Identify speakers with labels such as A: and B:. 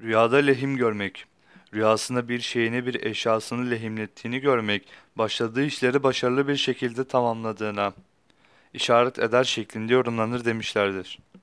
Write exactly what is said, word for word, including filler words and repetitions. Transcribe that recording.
A: Rüyada lehim görmek. Rüyasında bir şeyini bir eşyasını lehimlettiğini görmek, başladığı işleri başarılı bir şekilde tamamladığına işaret eder şeklinde yorumlanır demişlerdir.